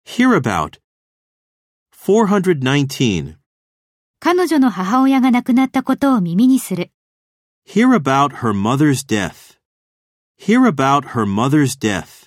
Hear about. 419. 彼女の母親が亡くなったことを耳にする。 Hear about her mother's death. Hear about her mother's death.